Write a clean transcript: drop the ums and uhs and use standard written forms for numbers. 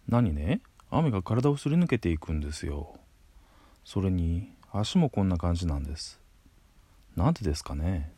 何ね、雨が体をすり抜けていくんですよ。それに足もこんな感じなんです。なんでですかね。